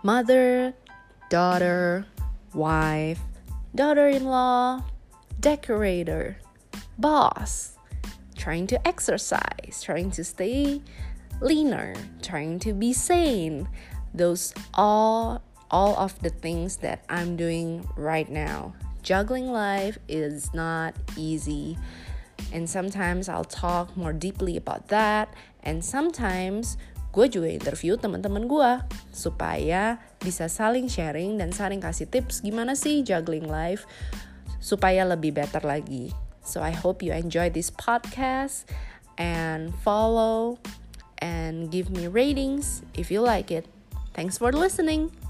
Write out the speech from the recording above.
mother, daughter, wife, daughter-in-law, decorator, boss, trying to exercise, trying to stay leaner, trying to be sane. Those all of the things that I'm doing right now. Juggling life is not easy. And sometimes I'll talk more deeply about that. And sometimes gue juga interview teman-teman gue supaya bisa saling sharing dan saling kasih tips gimana sih juggling life supaya lebih better lagi. So I hope you enjoy this podcast and follow and give me ratings if you like it. Thanks for listening.